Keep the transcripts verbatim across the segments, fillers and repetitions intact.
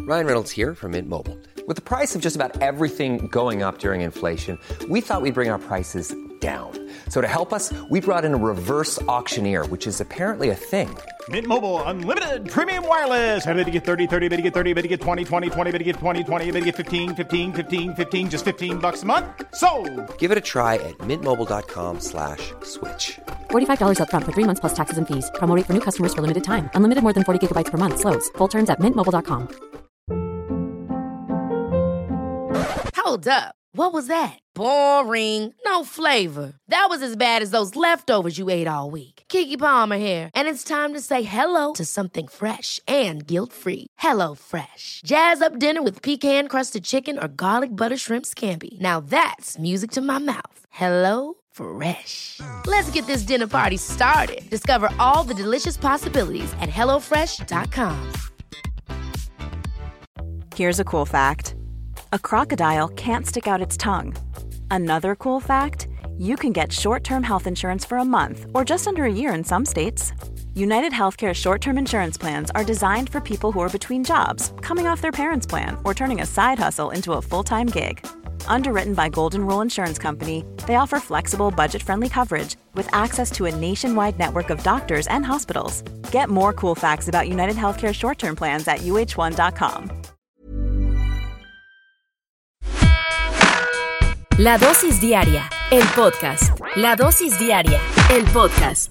Ryan Reynolds here from Mint Mobile. With the price of just about everything going up during inflation, we thought we'd bring our prices down. So to help us, we brought in a reverse auctioneer, which is apparently a thing. Mint Mobile Unlimited Premium Wireless. How to get thirty, thirty, how to get thirty, how to get twenty, twenty, twenty, how to get twenty, twenty, how to get fifteen, fifteen, fifteen, fifteen, just fifteen bucks a month? Sold! Give it a try at mintmobile.com slash switch. forty-five dollars up front for three months plus taxes and fees. Promo rate for new customers for limited time. Unlimited more than forty gigabytes per month. Slows full terms at mint mobile dot com. Hold up. What was that? Boring. No flavor. That was as bad as those leftovers you ate all week. Keke Palmer here, and it's time to say hello to something fresh and guilt-free. Hello Fresh. Jazz up dinner with pecan-crusted chicken or garlic butter shrimp scampi. Now that's music to my mouth. Hello Fresh. Let's get this dinner party started. Discover all the delicious possibilities at hello fresh dot com. Here's a cool fact. A crocodile can't stick out its tongue. Another cool fact, you can get short-term health insurance for a month or just under a year in some states. United Healthcare short-term insurance plans are designed for people who are between jobs, coming off their parents' plan, or turning a side hustle into a full-time gig. Underwritten by Golden Rule Insurance Company, they offer flexible, budget-friendly coverage with access to a nationwide network of doctors and hospitals. Get more cool facts about United Healthcare short-term plans at u h one dot com. La dosis diaria, el podcast. La dosis diaria, el podcast.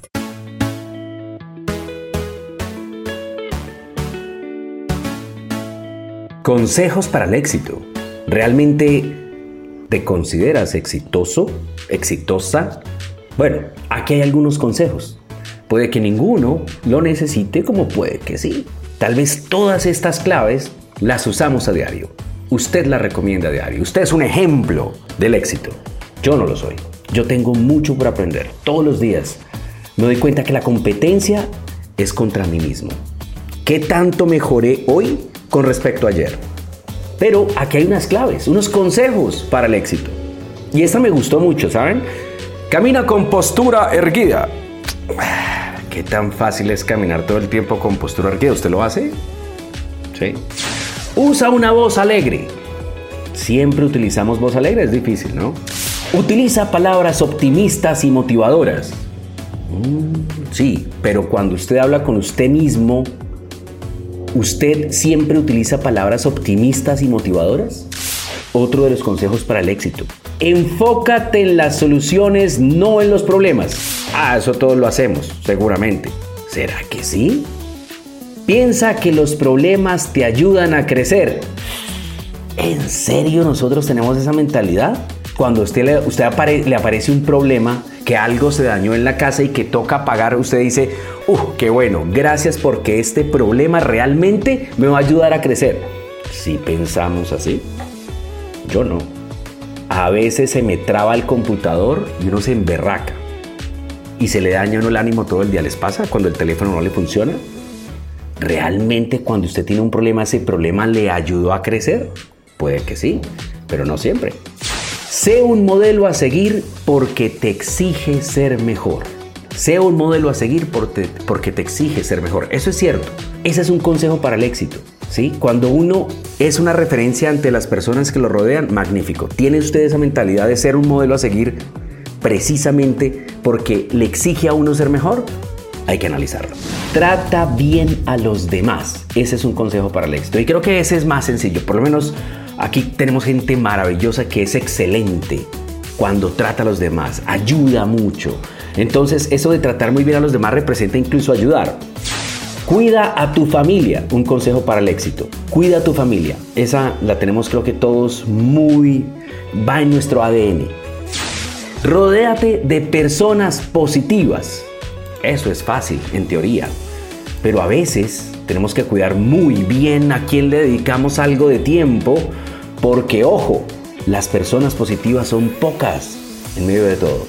Consejos para el éxito. ¿Realmente te consideras exitoso? ¿Exitosa? Bueno, aquí hay algunos consejos. Puede que ninguno lo necesite, como puede que sí. Tal vez todas estas claves las usamos a diario. Usted las recomienda a diario. Usted es un ejemplo del éxito. Yo no lo soy. Yo tengo mucho por aprender. Todos los días me doy cuenta que la competencia es contra mí mismo. ¿Qué tanto mejoré hoy con respecto a ayer? Pero aquí hay unas claves, unos consejos para el éxito. Y esta me gustó mucho, ¿saben? Camina con postura erguida. ¿Qué tan fácil es caminar todo el tiempo con postura erguida? ¿Usted lo hace? Sí. Usa una voz alegre. Siempre utilizamos voz alegre, es difícil, ¿no? Utiliza palabras optimistas y motivadoras. Mm, sí, pero cuando usted habla con usted mismo, ¿usted siempre utiliza palabras optimistas y motivadoras? Otro de los consejos para el éxito. Enfócate en las soluciones, no en los problemas. Ah, eso todos lo hacemos, seguramente. ¿Será que sí? Piensa que los problemas te ayudan a crecer. ¿En serio nosotros tenemos esa mentalidad? Cuando a usted, le, usted apare, le aparece un problema, que algo se dañó en la casa y que toca pagar, usted dice, ¡uh, qué bueno! Gracias porque este problema realmente me va a ayudar a crecer. ¿Sí pensamos así? Yo no. A veces se me traba el computador y uno se emberraca. Y se le daña a uno el ánimo todo el día. ¿Les pasa cuando el teléfono no le funciona? ¿Realmente cuando usted tiene un problema, ese problema le ayudó a crecer? Puede que sí, pero no siempre. Sé un modelo a seguir porque te exige ser mejor. Sé un modelo a seguir porque te exige ser mejor. Eso es cierto. Ese es un consejo para el éxito, ¿sí? Cuando uno es una referencia ante las personas que lo rodean, magnífico. ¿Tiene usted esa mentalidad de ser un modelo a seguir precisamente porque le exige a uno ser mejor? Hay que analizarlo. Trata bien a los demás. Ese es un consejo para el éxito. Y creo que ese es más sencillo. Por lo menos aquí tenemos gente maravillosa que es excelente cuando trata a los demás. Ayuda mucho. Entonces, eso de tratar muy bien a los demás representa incluso ayudar. Cuida a tu familia. Un consejo para el éxito. Cuida a tu familia. Esa la tenemos, creo que todos muy... va en nuestro A D N. Rodéate de personas positivas. Eso es fácil, en teoría. Pero a veces tenemos que cuidar muy bien a quién le dedicamos algo de tiempo, porque, ojo, las personas positivas son pocas en medio de todo.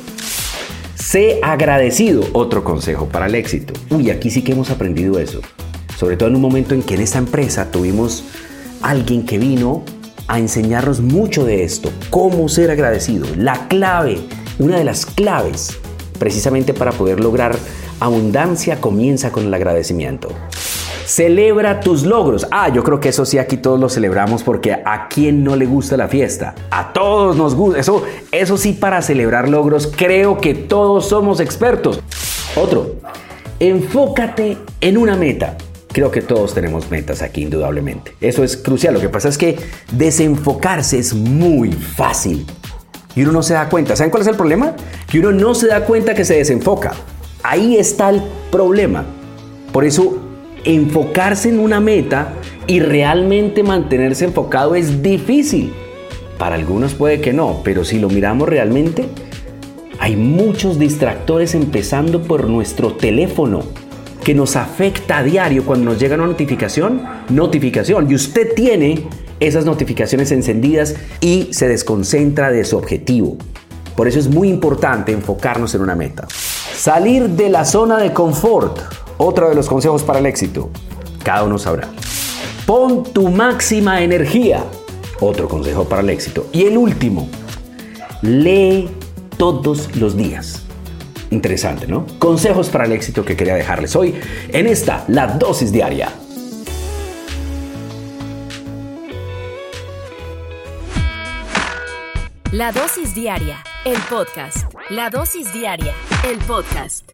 Sé agradecido, otro consejo para el éxito. Uy, aquí sí que hemos aprendido eso. Sobre todo en un momento en que en esta empresa tuvimos alguien que vino a enseñarnos mucho de esto. Cómo ser agradecido. La clave, una de las claves, precisamente para poder lograr abundancia, comienza con el agradecimiento. Celebra tus logros. Ah, yo creo que eso sí, aquí todos lo celebramos porque ¿a quién no le gusta la fiesta? A todos nos gusta. Eso, eso sí, para celebrar logros, creo que todos somos expertos. Otro, enfócate en una meta. Creo que todos tenemos metas aquí, indudablemente. Eso es crucial. Lo que pasa es que desenfocarse es muy fácil y uno no se da cuenta. ¿Saben cuál es el problema? Que uno no se da cuenta que se desenfoca. Ahí está el problema. Por eso, enfocarse en una meta y realmente mantenerse enfocado es difícil. Para algunos puede que no, pero si lo miramos realmente, hay muchos distractores, empezando por nuestro teléfono, que nos afecta a diario cuando nos llega una notificación, notificación, y usted tiene esas notificaciones encendidas y se desconcentra de su objetivo. Por eso es muy importante enfocarnos en una meta. Salir de la zona de confort, otro de los consejos para el éxito. Cada uno sabrá. Pon tu máxima energía, otro consejo para el éxito. Y el último, lee todos los días. Interesante, ¿no? Consejos para el éxito que quería dejarles hoy en esta, la dosis diaria. La dosis diaria, el podcast. La dosis diaria, el podcast.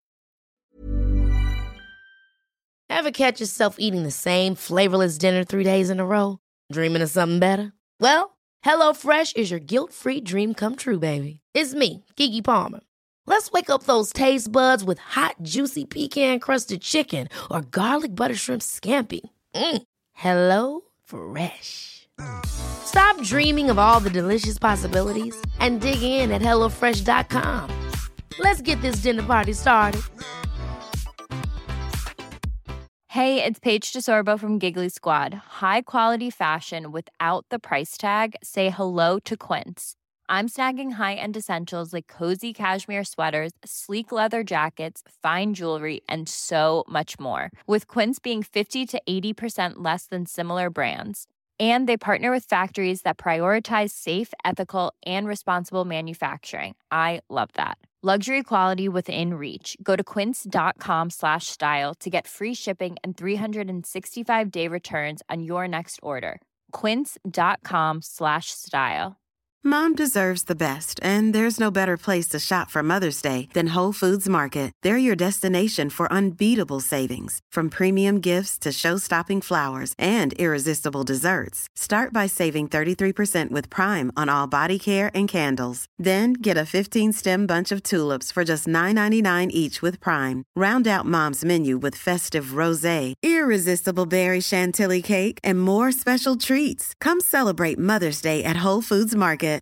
Ever catch yourself eating the same flavorless dinner three days in a row? Dreaming of something better? Well, HelloFresh is your guilt-free dream come true, baby. It's me, Keke Palmer. Let's wake up those taste buds with hot, juicy pecan-crusted chicken or garlic butter shrimp scampi. Mm. Hello Fresh. Stop dreaming of all the delicious possibilities and dig in at hello fresh dot com. Let's get this dinner party started. Hey, it's Paige DeSorbo from Giggly Squad. High quality fashion without the price tag. Say hello to Quince. I'm snagging high-end essentials like cozy cashmere sweaters, sleek leather jackets, fine jewelry, and so much more. With Quince being fifty to eighty percent less than similar brands. And they partner with factories that prioritize safe, ethical, and responsible manufacturing. I love that. Luxury quality within reach. Go to quince.com slash style to get free shipping and three sixty-five day returns on your next order. Quince.com slash style. Mom deserves the best, and there's no better place to shop for Mother's Day than Whole Foods Market. They're your destination for unbeatable savings, from premium gifts to show-stopping flowers and irresistible desserts. Start by saving thirty-three percent with Prime on all body care and candles. Then get a fifteen-stem bunch of tulips for just nine ninety-nine each with Prime. Round out Mom's menu with festive rosé, irresistible berry chantilly cake, and more special treats. Come celebrate Mother's Day at Whole Foods Market.